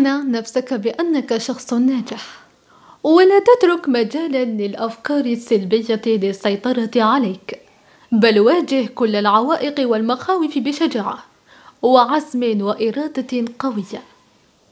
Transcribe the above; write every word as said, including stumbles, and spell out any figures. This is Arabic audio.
اقنع نفسك بأنك شخص ناجح، ولا تترك مجالا للأفكار السلبية للسيطرة عليك، بل واجه كل العوائق والمخاوف بشجاعة وعزم وإرادة قوية.